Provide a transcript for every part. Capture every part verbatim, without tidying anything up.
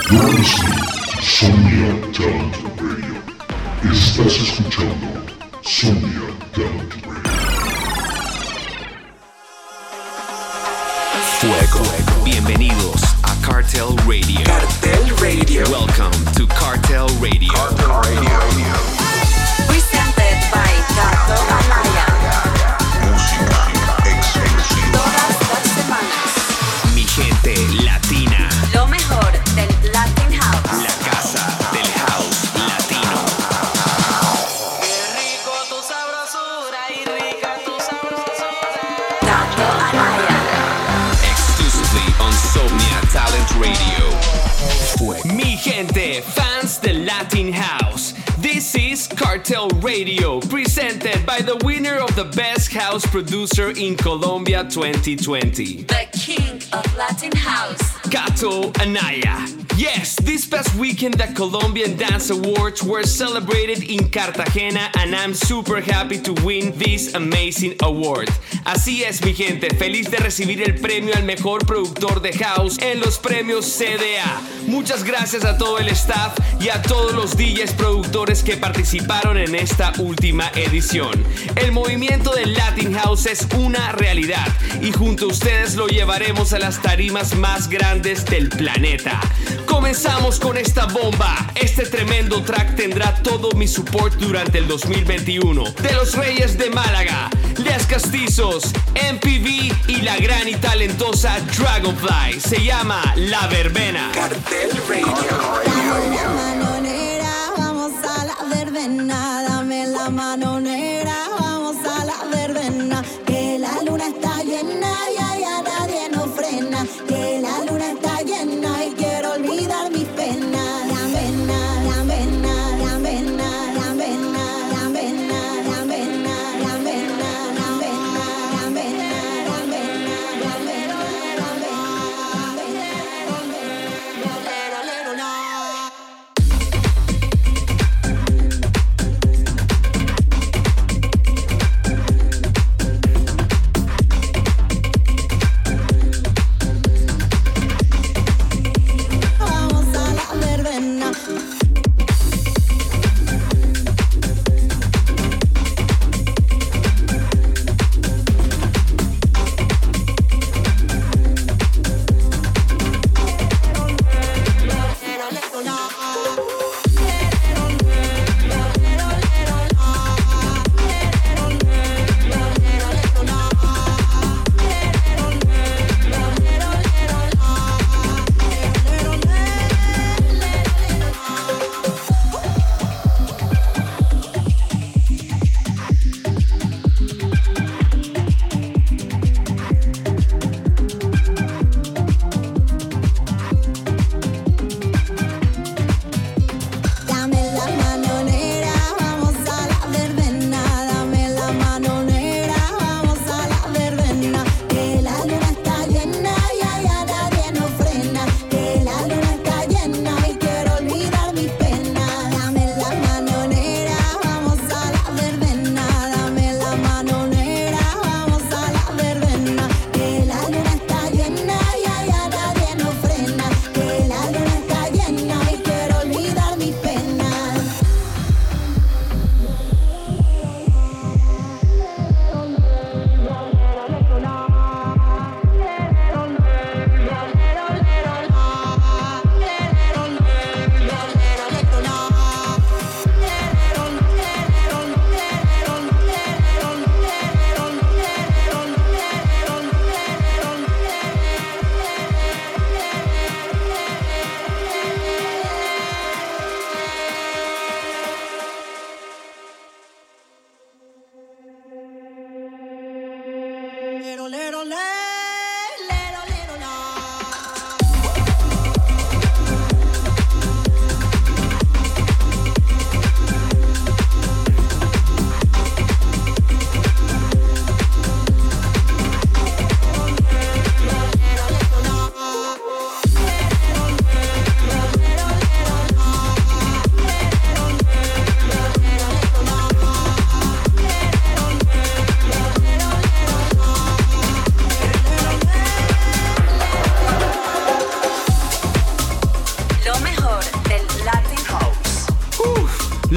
You're listening to Somnia Talent Radio. Estás escuchando Somnia Talent Radio. Fuego. Bienvenidos a Cartel Radio. Cartel Radio. Welcome to Cartel Radio. Cartel Radio. Presented by Gato Anaya. Música exclusiva. Todas las semanas. Mi gente latina. Lo mejor del Latin House. La casa del house latino. Qué rico tu sabrosura y rica tu sabrosura. Gato Anaya. Exclusively on Somnia Talent Radio. Mi gente, fans del Latin House. This is Cartel Radio, presented by the winner of the Best House Producer in Colombia twenty twenty. The king of Latin House. Gato Anaya. Yes, this past weekend the Colombian Dance Awards were celebrated in Cartagena and I'm super happy to win this amazing award. Así es, mi gente, feliz de recibir el premio al mejor productor de house en los premios C D A. Muchas gracias a todo el staff y a todos los D Js productores que participaron en esta última edición. El movimiento del Latin House es una realidad y junto a ustedes lo llevaremos a las tarimas más grandes del planeta. Comenzamos con esta bomba. Este tremendo track tendrá todo mi support durante el dos mil veintiuno. De los Reyes de Málaga, Les Castizos, M P V y la gran y talentosa Dragonfly. Se llama La Verbena. Cartel Radio. Dame la mano negra, vamos a la verbena. Dame la mano negra, vamos a la verbena. Que la luna está llena y allá nadie nos frena. Que la luna está llena y quiero olvidar mis penas. La vena, la vena, la vena, la vena, la vena, la vena, la vena, la vena, la vena, la vena, la vena, la vena, la vena.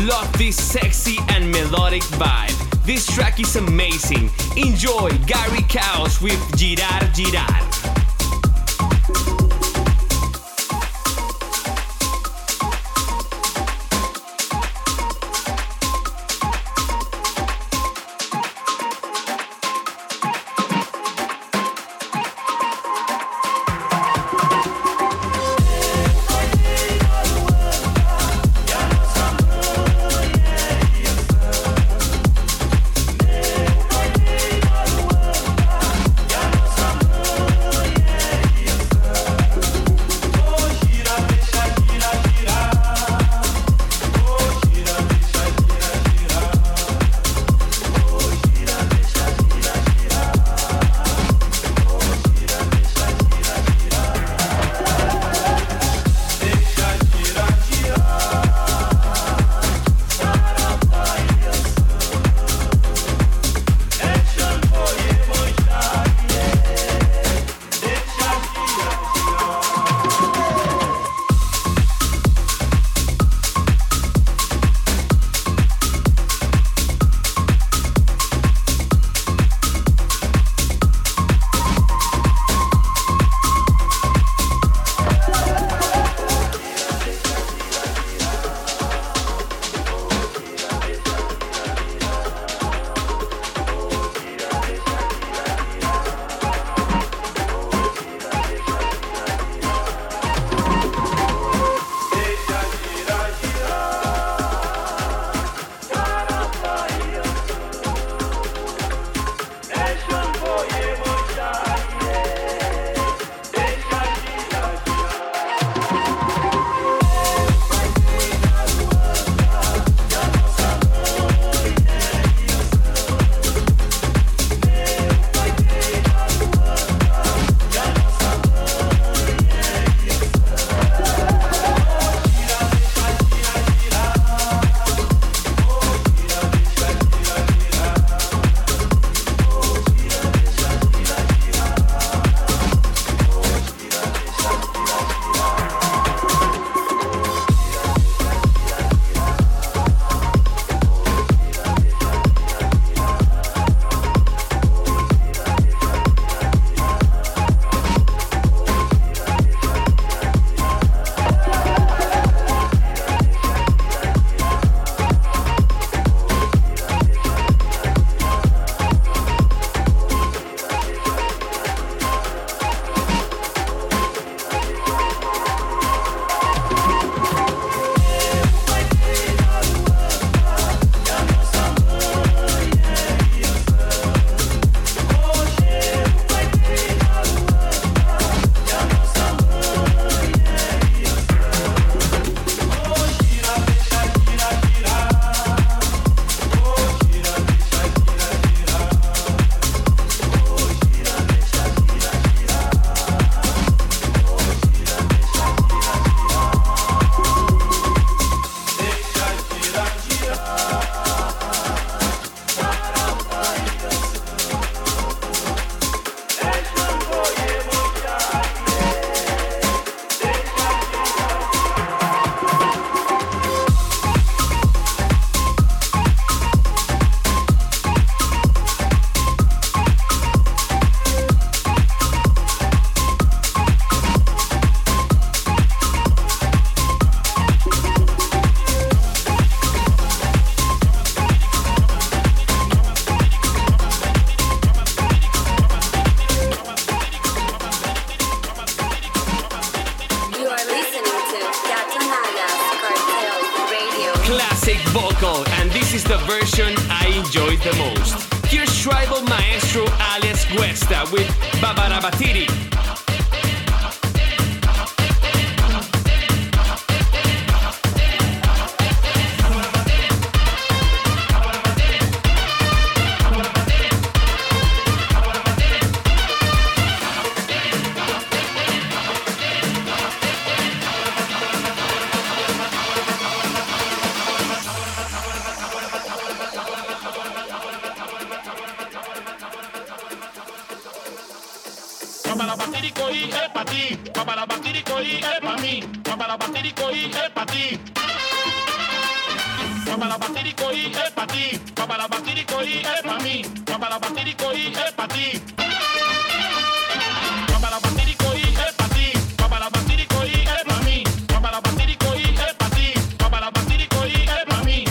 Love this sexy and melodic vibe. This track is amazing. Enjoy Gary Caos with Girar Girar. the version I enjoyed the most. Here's Tribal Maestro alias Cuesta with Babarabatiri. Babarabatiricoí es pa' ti, Babarabatiricoí es pa' mí, Babarabatiricoí es pa' ti. Papá la patirico y es pa' ti. Papá la patirico y es pa' mí. Papá la patirico y es pa' ti. Papá la patirico y es pa' ti. Papá la patirico y es pa' mí. Papá la patirico y es pa' ti. Papá la patirico y es pa' mí.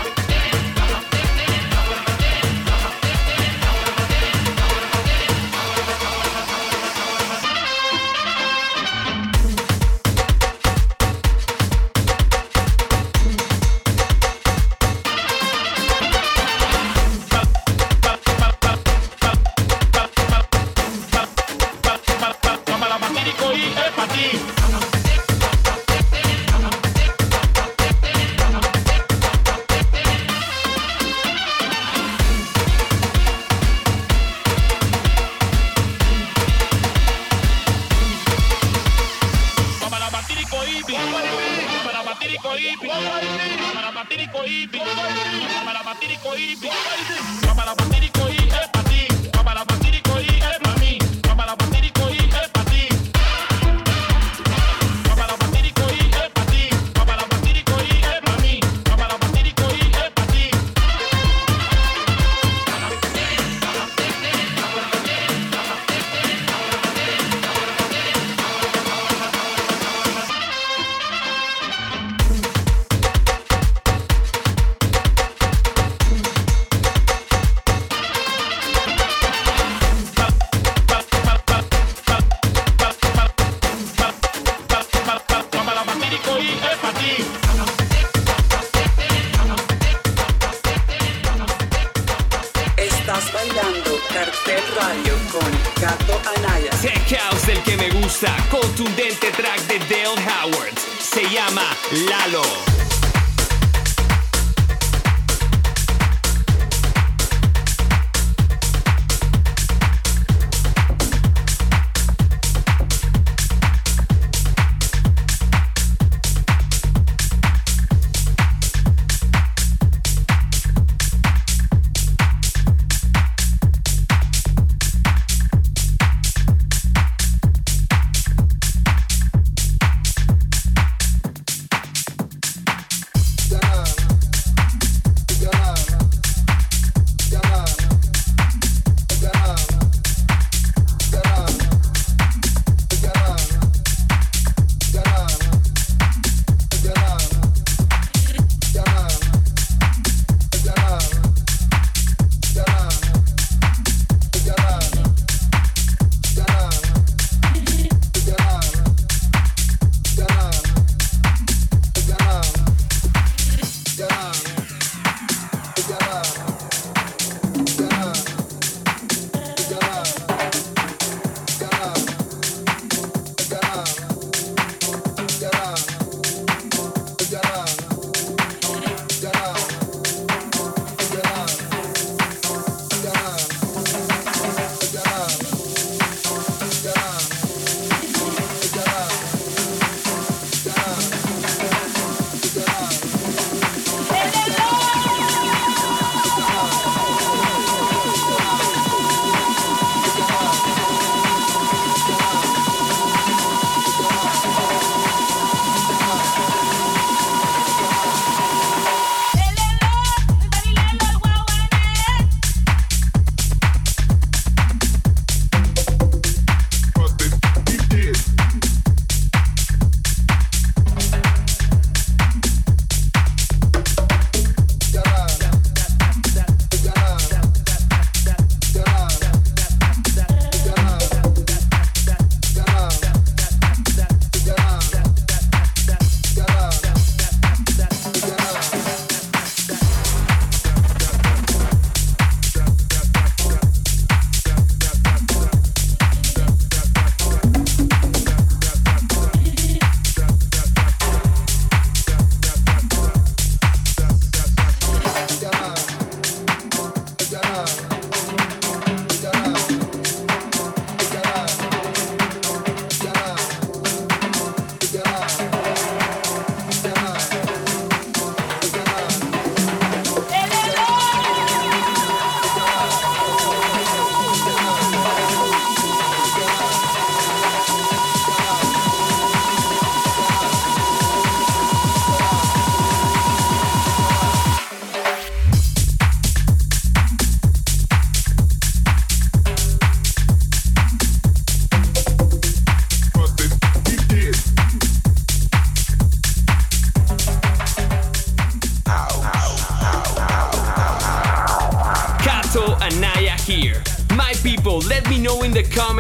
Estás bailando Cartel Radio con Gato Anaya. Tech House del que me gusta, contundente track de Dale Howard. Se llama Lalo.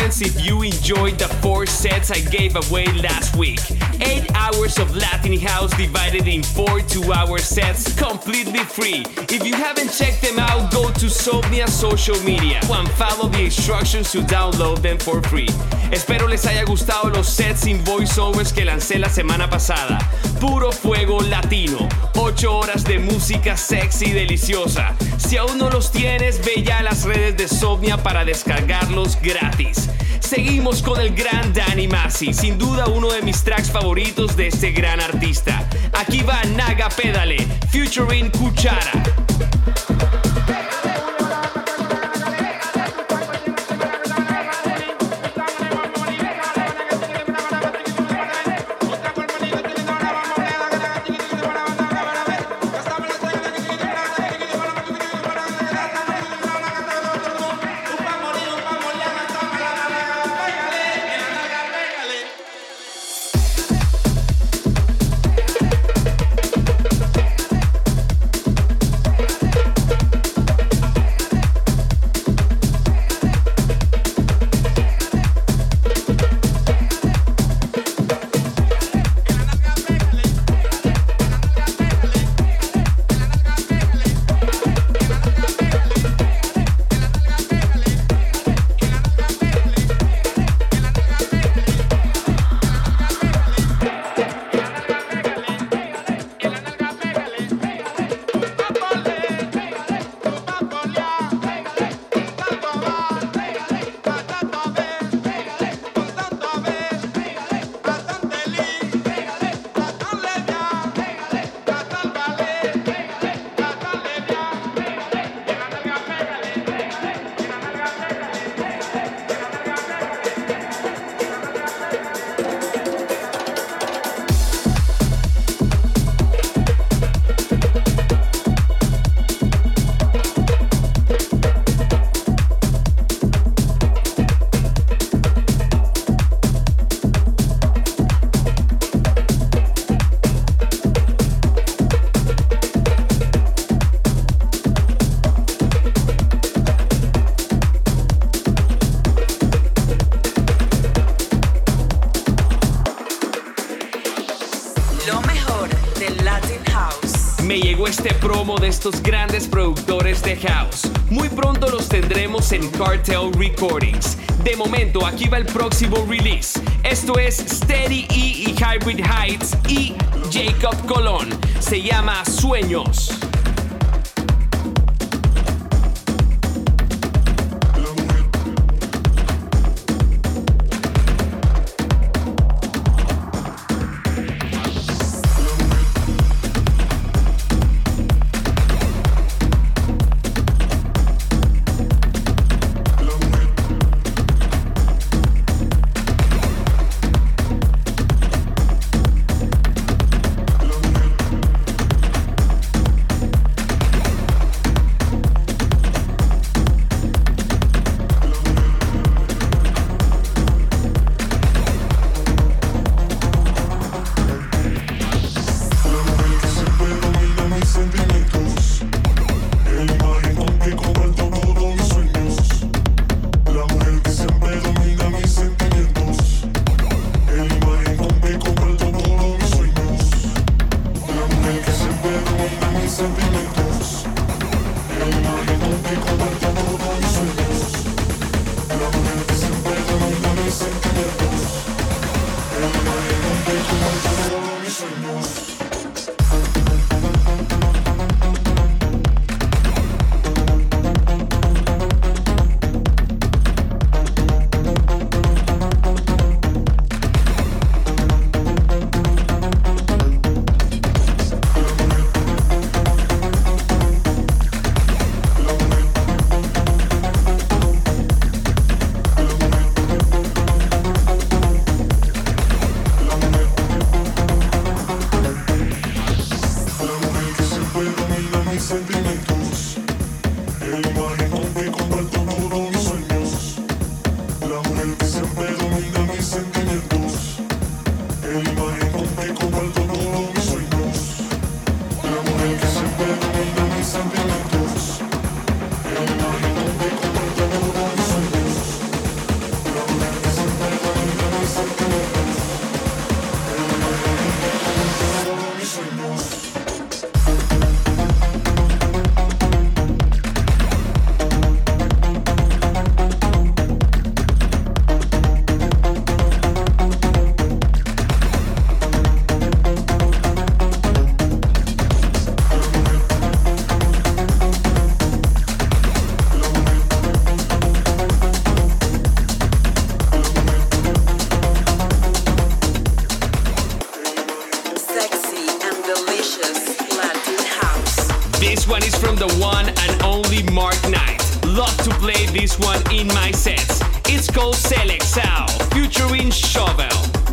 happens if you enjoyed the four sets I gave away last week. Eight hours of Latin house divided in four two-hour sets, completely free. If you haven't checked them out, go to Somnia social media and follow the instructions to download them for free. Espero les haya gustado los sets sin voiceovers que lancé la semana pasada. Puro fuego latino, ocho horas de música sexy y deliciosa. Si aún no los tienes, ve ya a las redes de Somnia para descargarlos gratis. Seguimos con el gran Danny Massey, sin duda uno de mis tracks favoritos de este gran artista. Aquí va Naga Pedale, featuring Cuchara. Este promo de estos grandes productores de house. Muy pronto los tendremos en Cartel Recordings. De momento, aquí va el próximo release. Esto es Steady E y Hybrid Heights y Jacob Colón. Se llama Sueños. This one is from the one and only Mark Knight. Love to play this one in my sets. It's called Selexao, featuring Shovel.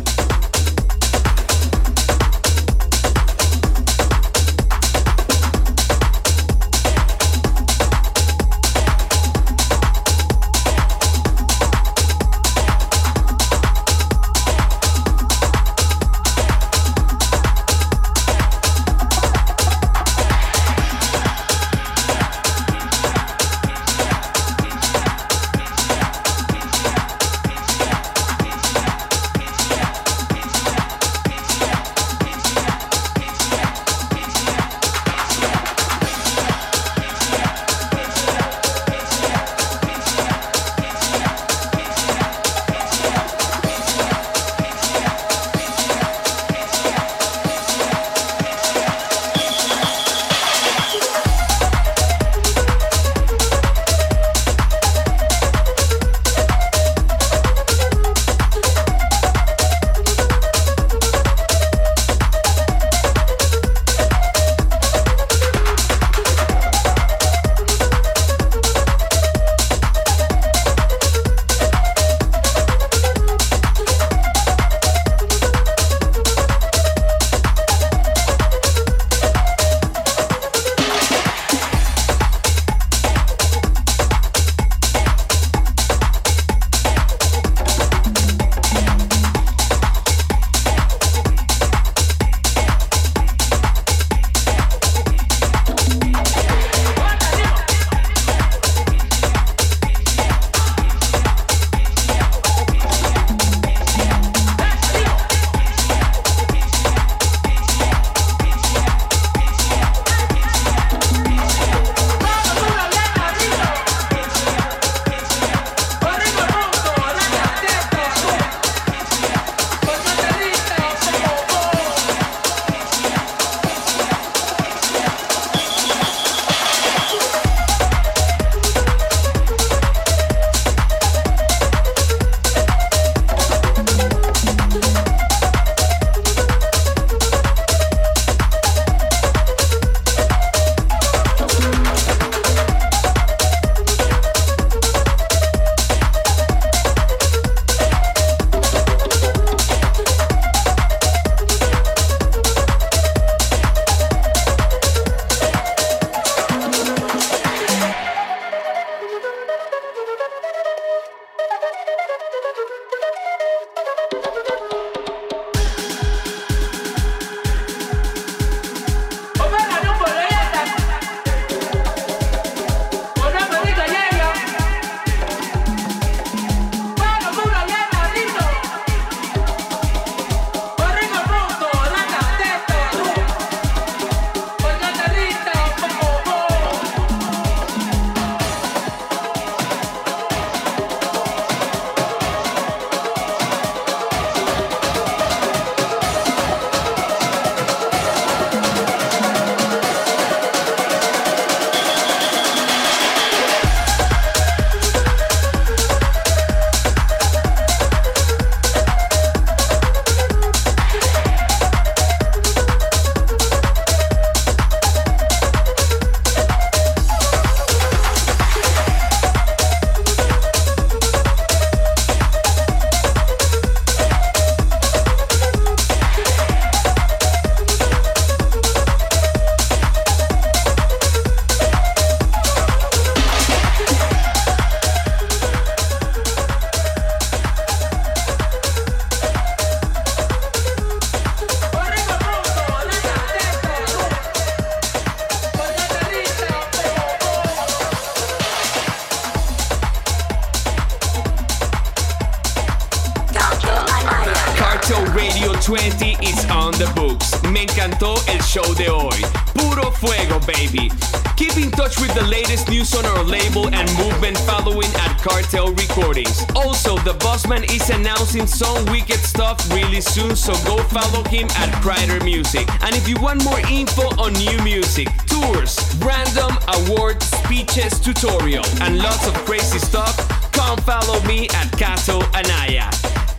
twenty is on the books. Me encantó el show de hoy. Puro fuego, baby. Keep in touch with the latest news on our label and movement following at Cartel Recordings. Also, the Bossman is announcing some wicked stuff really soon, so go follow him at Crider Music. And if you want more info on new music, tours, random awards, speeches, tutorial, and lots of crazy stuff, come follow me at Cato Anaya.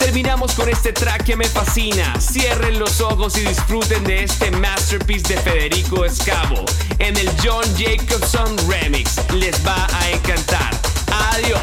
terminamos con este track que me fascina. Cierren los ojos y disfruten de este masterpiece de Federico Scavo en el John Jacobson Remix. Les va a encantar. Adiós.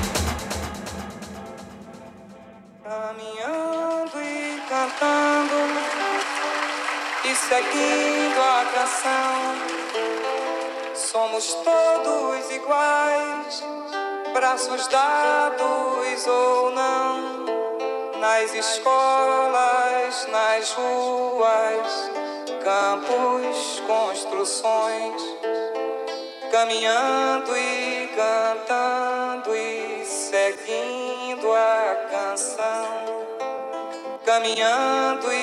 Caminhando e cantando e seguindo a canção, somos todos iguais, braços dados ou não, nas escolas, nas ruas, campos, construções, caminhando e cantando e seguindo a canção, caminhando